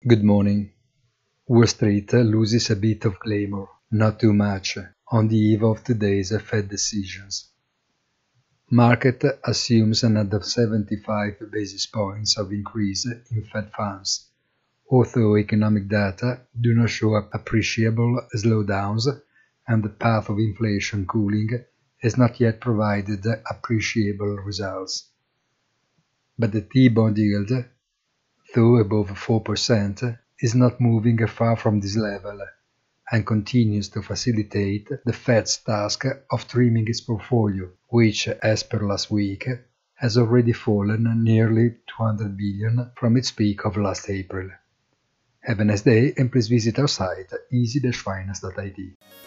Good morning. Wall Street loses a bit of glamour, not too much, on the eve of today's Fed decisions. Market assumes another 75 basis points of increase in Fed funds, although economic data do not show appreciable slowdowns and the path of inflation cooling has not yet provided appreciable results. But the T-bond yield, though above 4%, is not moving far from this level and continues to facilitate the Fed's task of trimming its portfolio, which, as per last week, has already fallen nearly 200 billion from its peak of last April. Have a nice day and please visit our site easy-finance.it.